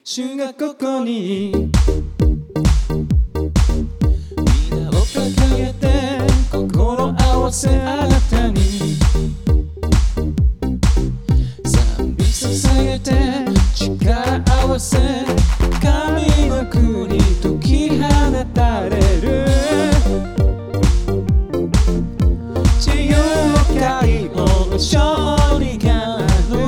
主がここに皆を掲げて心合わせあなたに賛美捧げて力合わせ神の国解き放たれる自由解放の勝利がある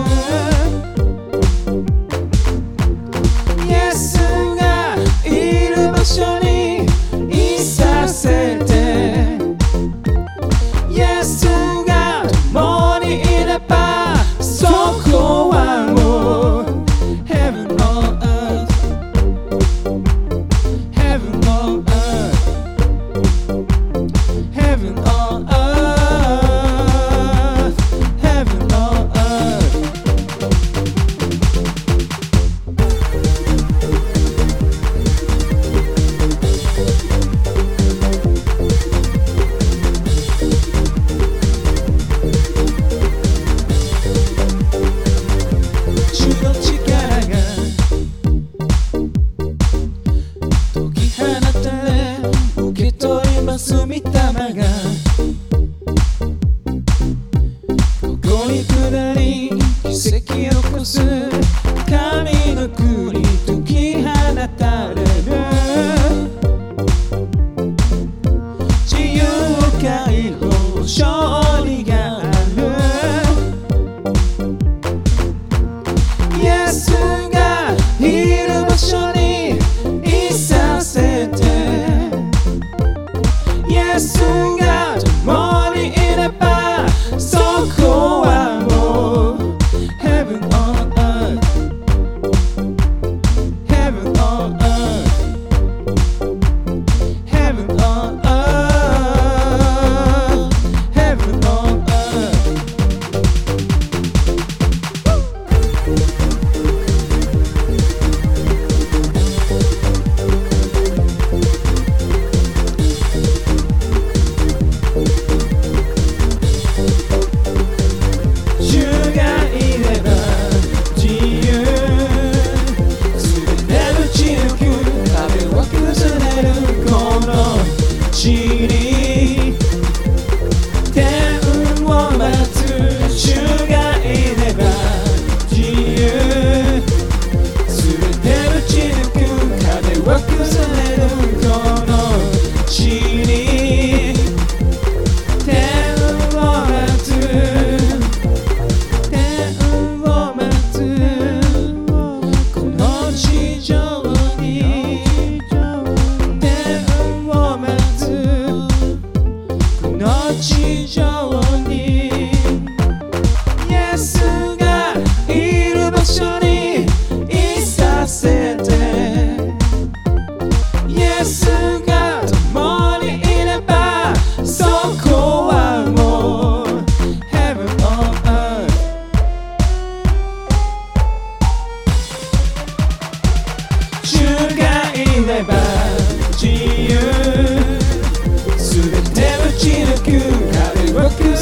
イエスがいる場所にいさせてイエスが共にいればそこはもう Heaven on earth Heaven on earth Heaven on earth Heaven on earth 主の力が解き放たれ受け取ります御霊がここに下り奇跡を起こす神の国解き放たれる自由解放勝利があるイエスがいる場所にいさせてイエスが共にいればそこはもう Heaven on earth Heaven on earth Heaven on earth Heaven on earth主がいれば自由全て打ち抜く壁を崩れるこの地に天を待つ主がいれば自由全て打ち抜く壁を崩れるこの地に天を待つ天を待つこの地上に天を待つこの地上にイエスがいる場所にいさせてイエスが共にいればそこはもう Heaven on earth 主がいれば自由全て打ち抜く壁を